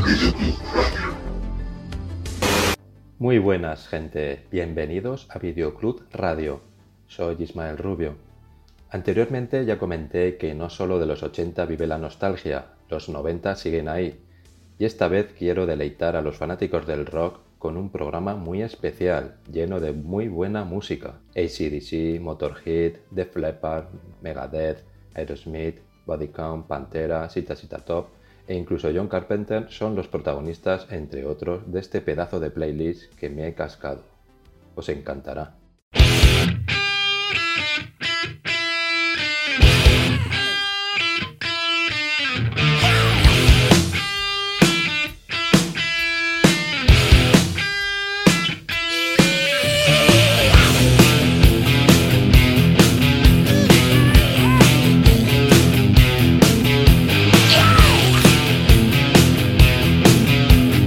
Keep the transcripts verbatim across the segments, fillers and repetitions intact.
Muy buenas, gente. Bienvenidos a Videoclub Radio. Soy Ismael Rubio. Anteriormente ya comenté que no solo de los ochenta vive la nostalgia, los noventa siguen ahí. Y esta vez quiero deleitar a los fanáticos del rock con un programa muy especial, lleno de muy buena música. A C D C, Motorhead, Def Leppard, Megadeth, Aerosmith, Body Count, Pantera, Sita Sita Top e incluso John Carpenter son los protagonistas, entre otros, de este pedazo de playlist que me he cascado. Os encantará.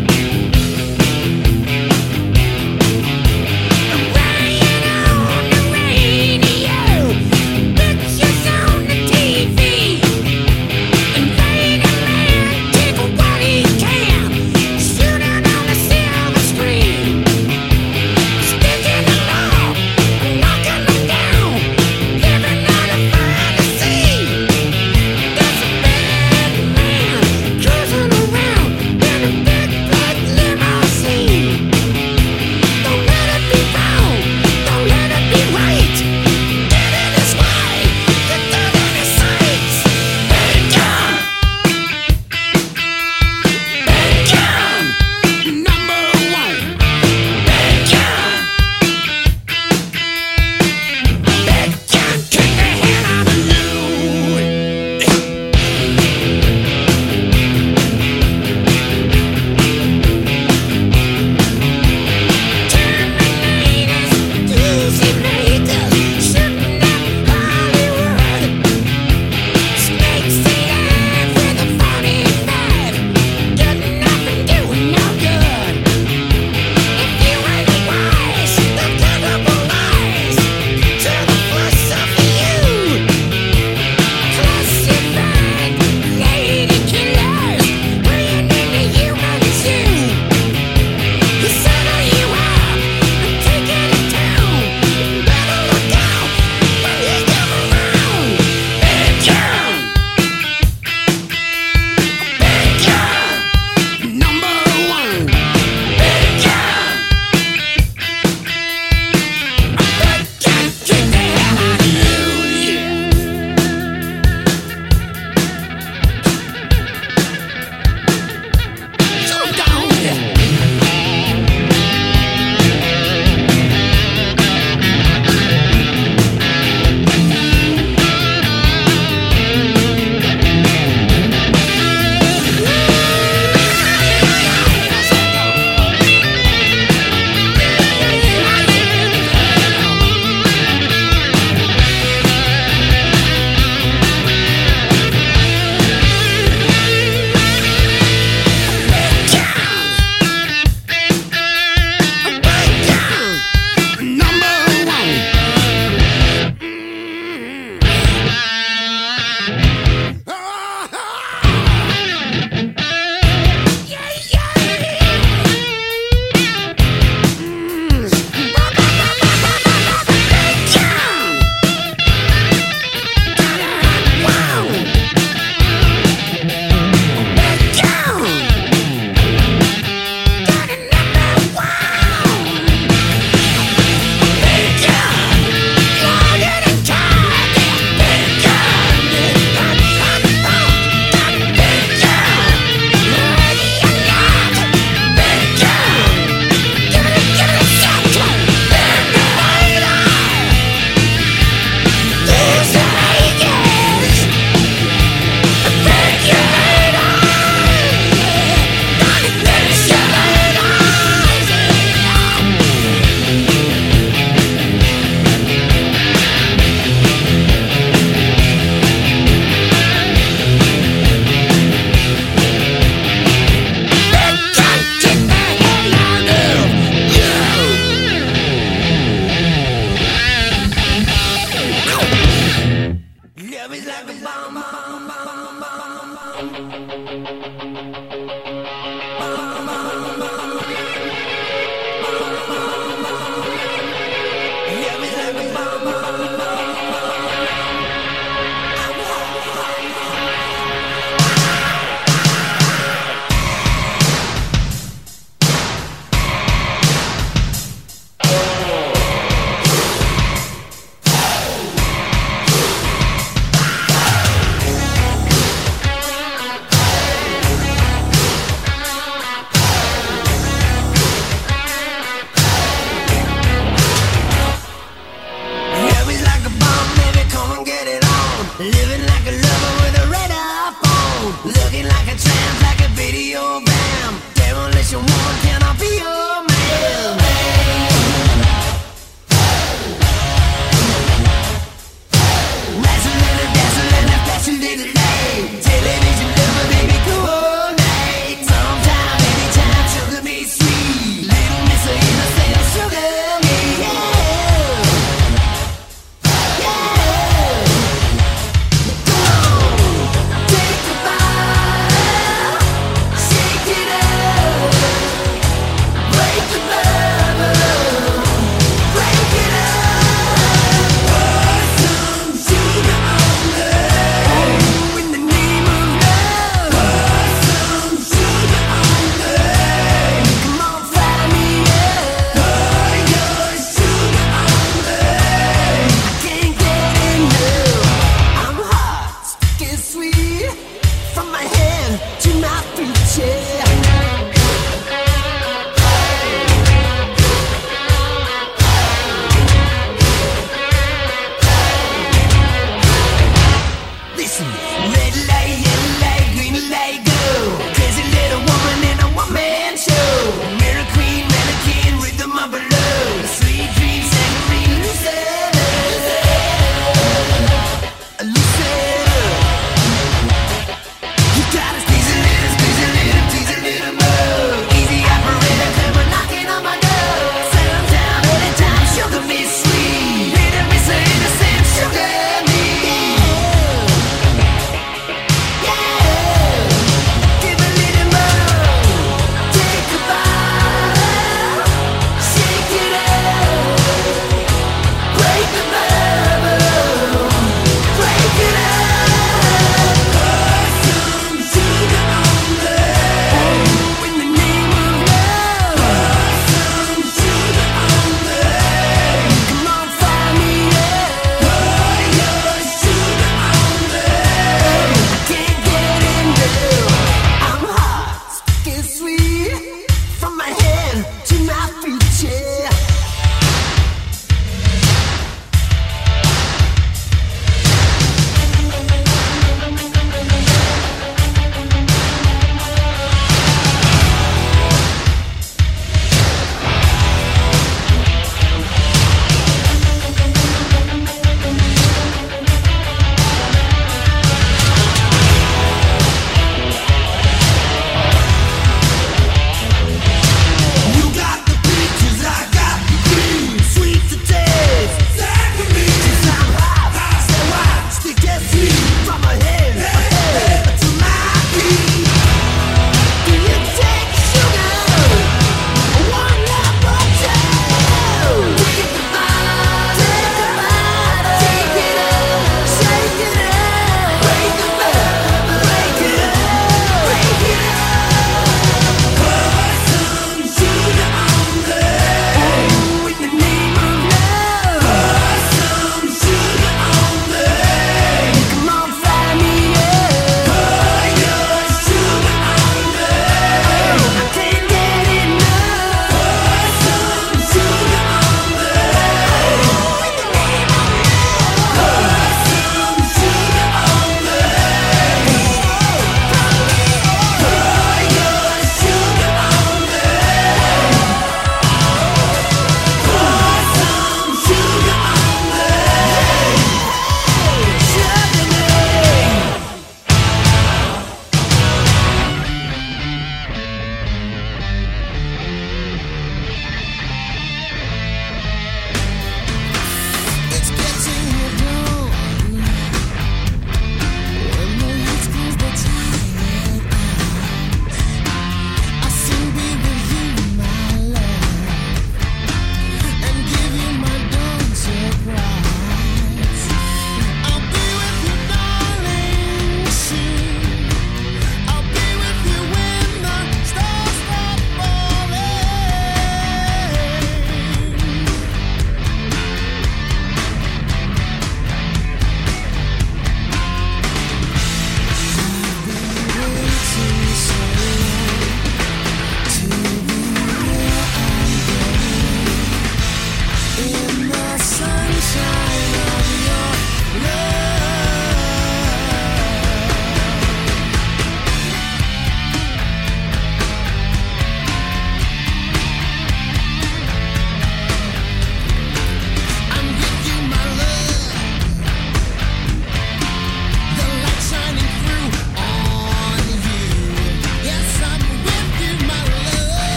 Rain on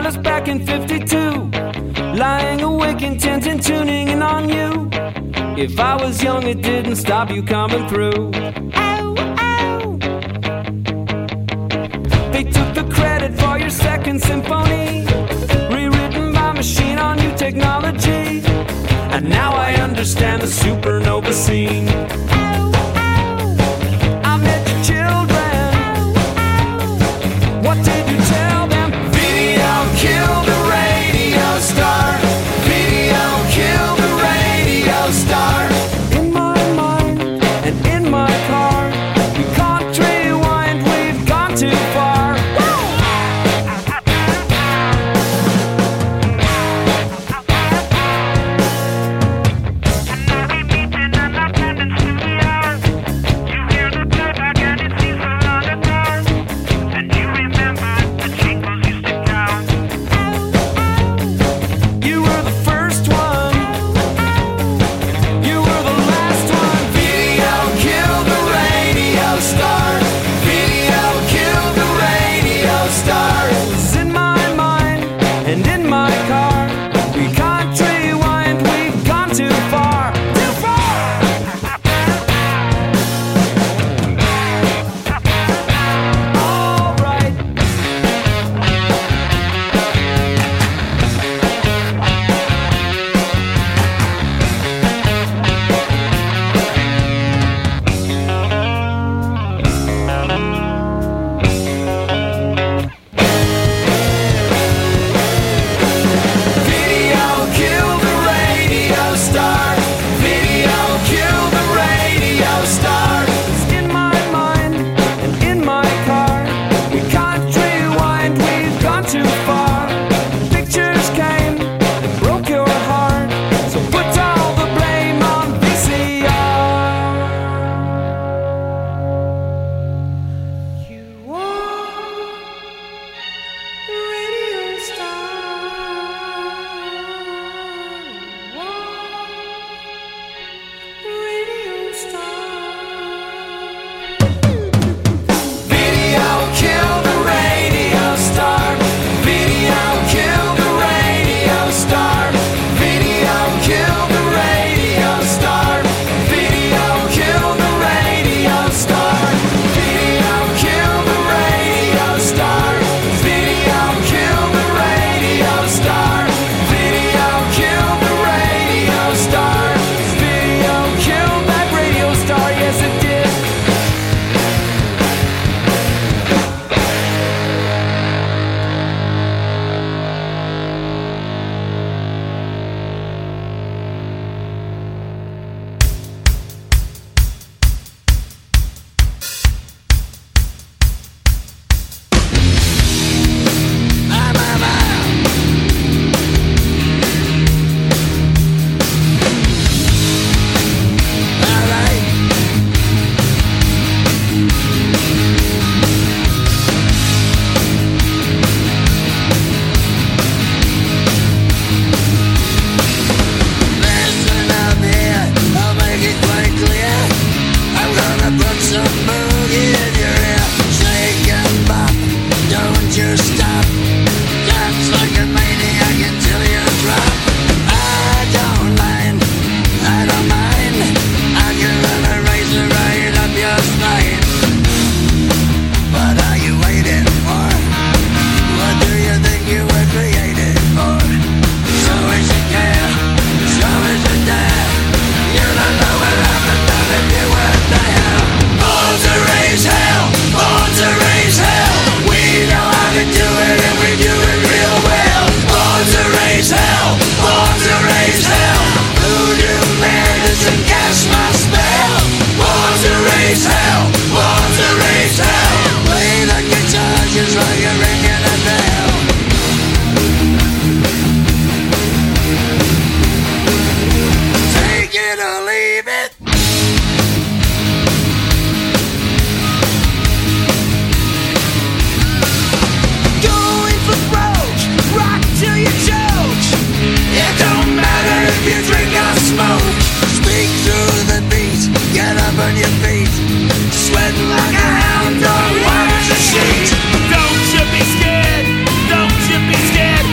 us back in fifty-two, lying awake intent and tuning in on you. If I was young, it didn't stop you coming through. Ow, ow. They took the credit for your second symphony, rewritten by machine on new technology. And now I understand the supernova scene. Ow, ow. I met your children. Ow, ow. What did you tell them? Video killed the radio star. Video killed the radio star. In my mind and in my car, we can't rewind, we've gone too far. Sweating like a hound dog, why would you sheet? Don't you be scared, don't you be scared.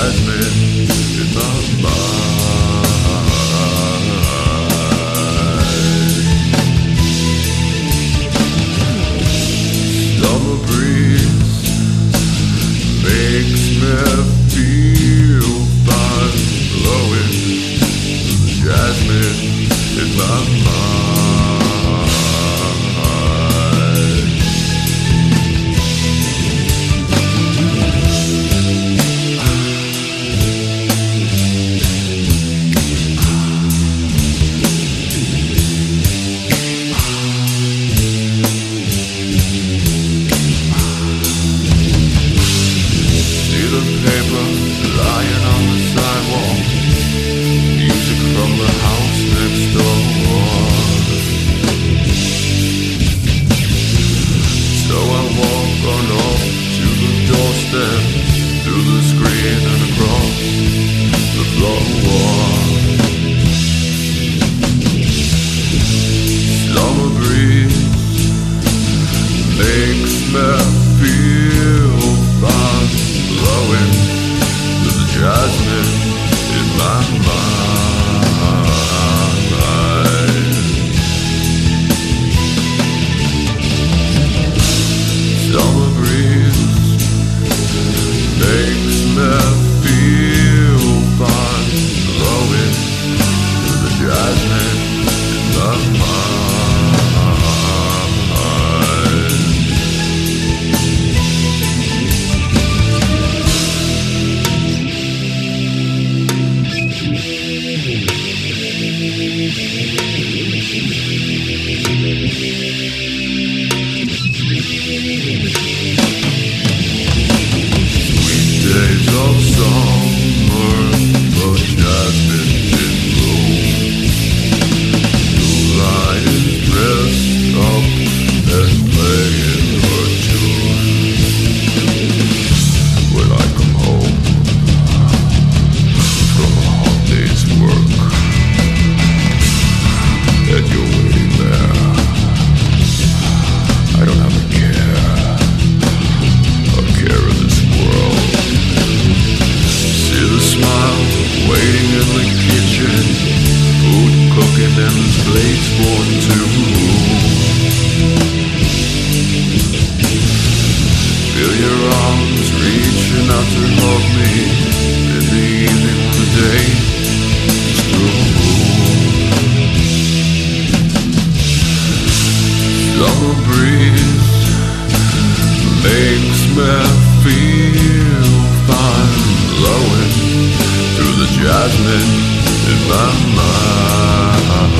jasmine in my mind. Summer breeze makes me feel fine, blowing jasmine in my mind. See the paper lying on the sidewalk, music from the house next door. So I walk on up to the doorstep, through the screen and across the floor. Summer breeze makes me feel fine, blowing to the jasmine in my mind. Summer breeze makes me feel fine, blowing to the jasmine in my mind. Sweet days of summer, the jasmine in bloom. Moonlight is dressed up and playing her tune. When I come home from a hard day's work, and you're waiting there, I don't have a care, a care in this world. See the smile waiting in the kitchen, food cooking and there's plates for two. Feel your arms reaching out to hug me in the evening when the day is through. Summer breeze makes me feel fine, blowing through the jasmine in my mind.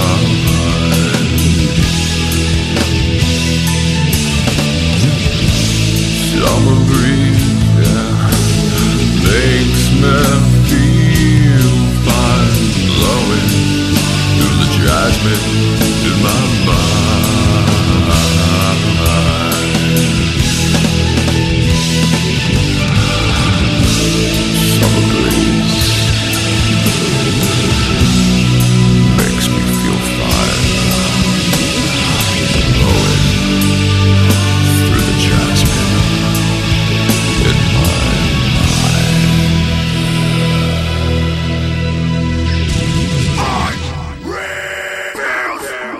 Summer breeze, yeah, makes me feel fine, blowing through the jasmine in my mind. Summer breeze makes me feel fine, blowing through the jasmine in my mind.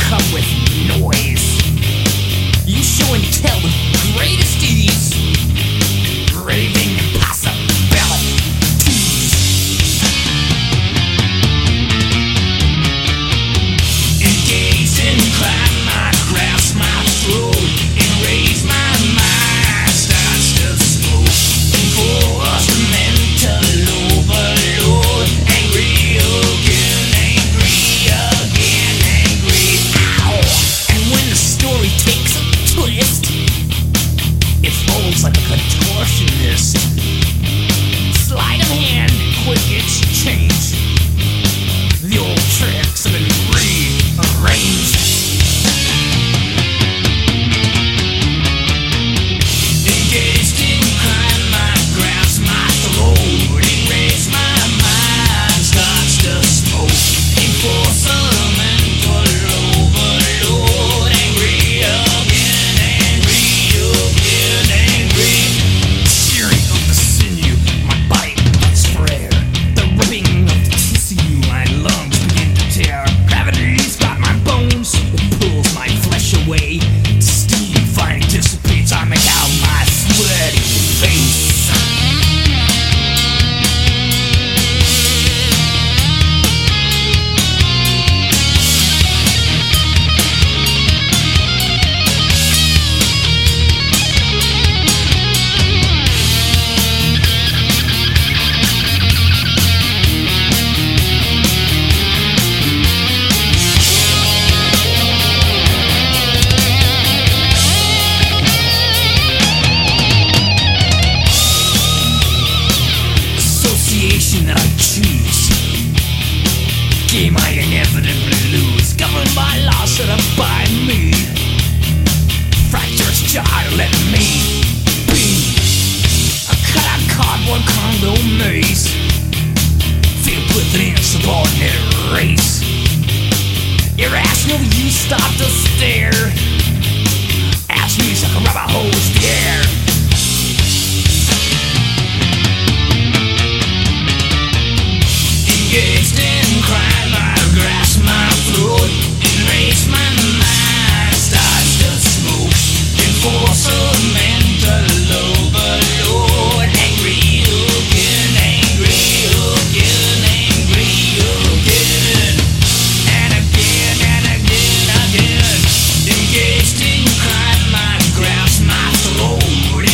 come with noise. You show and tell with greatest ease, raving impossibilities. Engaged in crime, I grasp my throat and raise my mind, starts to smoke. Enforced mental overload, angry again, angry again, angry. Ow! And when the story takes a twist, it folds like a contortionist. Sleight of hand, quick exchange. The old tricks have been rearranged. Engaged in crime, I grasp my throat and raise my mind, starts to smoke. Enforce a mental overload, angry again, angry again, angry. Shearing of the sinew, my body is frail. The ripping of the tissue, my lungs begin to tear. Gravity's got my bones, it pulls my flesh away. Steam finally dissipates, I make out my sweaty face. Association that I choose, game I inevitably lose, governed by laws set up by me. Fractures jar, let me be a cut-out cardboard condo maze, filled with an insubordinate race. Irrational, you stop to stare, ask me like a rubber hose the air. Engaged in crime, I grasp my throat and raise my mind, starts to smoke. Enforce a mental overload, angry again, angry again, angry again, and again, and again, again. Engaged in crime, I grasp my throat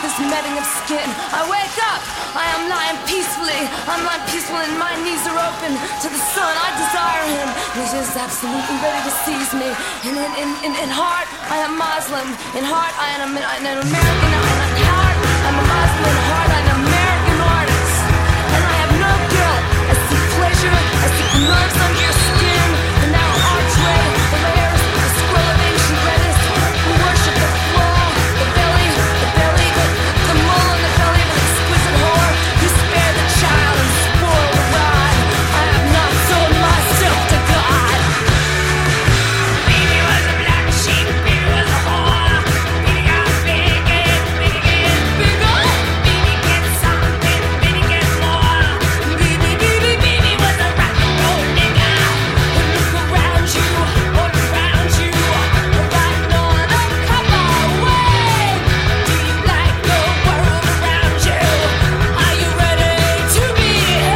this netting of skin. I wake up, I am lying peacefully. I'm lying peaceful and my knees are open to the sun. I desire him. He's just absolutely ready to seize me. And in, in, in, in heart, I am Muslim. In heart, I am an, an American. In heart, I'm a Muslim. In heart, I'm an American artist. And I have no guilt. I see pleasure. I see the nerves under your skin. The narrow archway, the layers, the scroll of ancient lettuce. We worship the floor, the belly, the belly, the, the mole in the belly of an exquisite whore. You spare the child and spoil the ride. I have not sold myself to God. Baby was a black sheep, baby was a whore. Baby got big and big and bigger. Baby gets something, baby gets more. Baby, baby, baby was a rock and roll nigga. Look around you, all around you, riding on a cowboy way. Do you like the world around you? Are you ready to be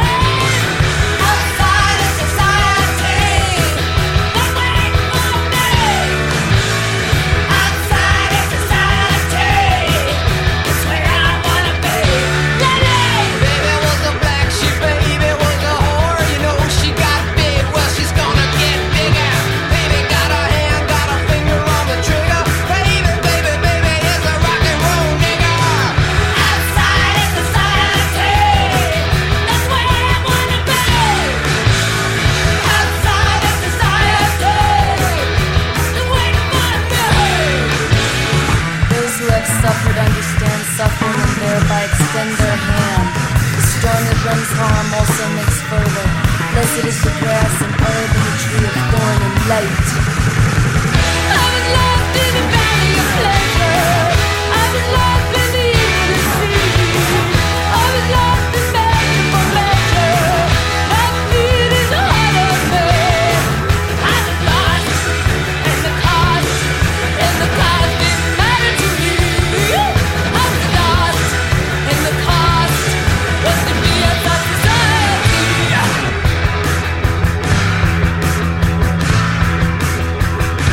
outside of society? That's where I wanna be. Outside of society, That's where I wanna be. Baby was a black sheep, baby was a whore. You know she got big, well she's gonna get bigger. Baby got a hand, got a finger on the trigger. Baby, baby, baby is a rock and roll nigga. outside of society, That's where I wanna be. outside of society. That's where I wanna be. Those who have suffered understand suffering and thereby extend their hand. The storm that brings harm also makes further. Blessed is the grass and herb and the tree of thorn and light. I was lost in a valley of pleasure. I was lost in the inner sea. I was lost in begging for measure. That need is heart of me. I was lost in the cost, and the cost didn't matter to me. I was lost in the cost, was to be a society.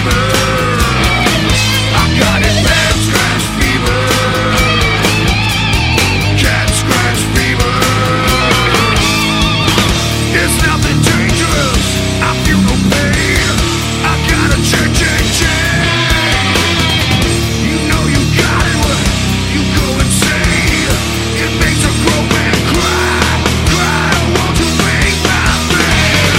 fever. I got it bad scratch fever. Cat scratch fever. It's nothing dangerous. I feel no pain. I got a check, check, check. You know you got it when you go insane. It makes a grown man cry, cry. Won't you make my pain?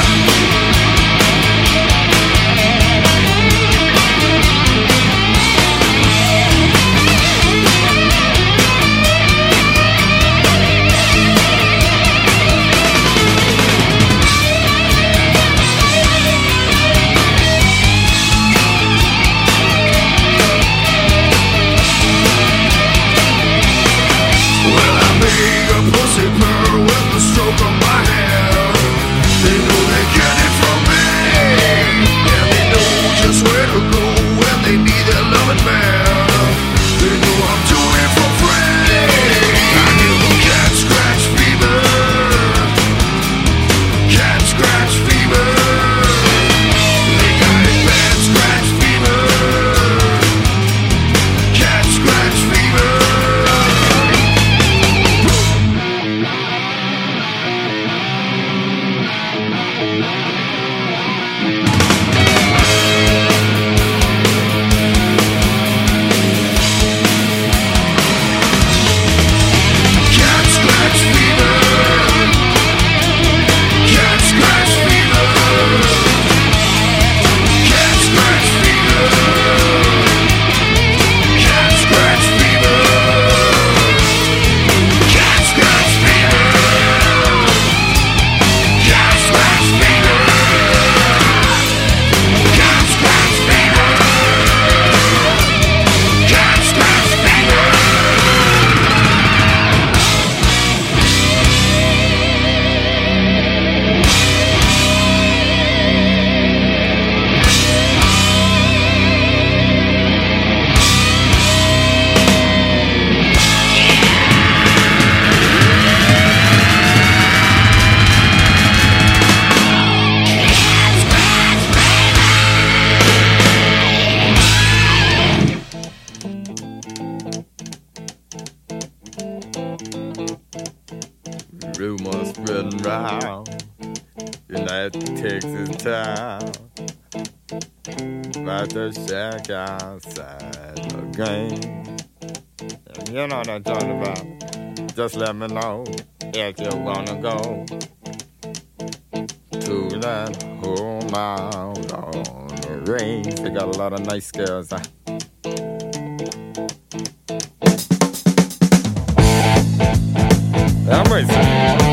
Well, I make a pussy purr with the stroke of my hand. They know they get it from me, and they know just where to go when they need their loving man. They know I'm doing it for free. I give them cat scratch fever. Cat scratch fever. They got it bad scratch fever. Cat scratch fever. Cat scratch fever. Cat scratch fever. Cat scratch fever. Cat scratch fever. Cat scratch fever. Cat scratch fever. Cat scratch fever. Cat scratch fever. Rumors spreading round United Texas town about the shack outside the game. And you know what I'm talking about. Just let me know if you wanna go to that home out on the range. They got a lot of nice girls. Huh? I'm racing.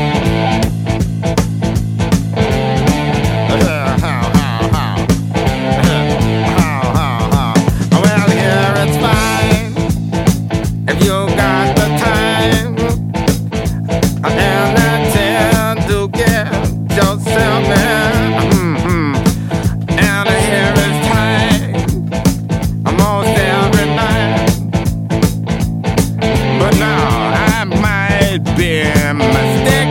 Well, here it's fine if you got the time and the time to get yourself in. Mm-hmm. And here it's time almost every night. But now I might be mistaken.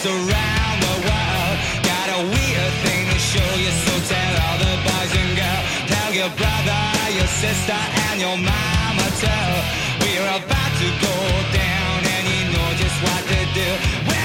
friends around the world. Got a weird thing to show you, so tell all the boys and girls. Tell your brother, your sister, and your mama too. We're about to go down, and you know just what to do. We're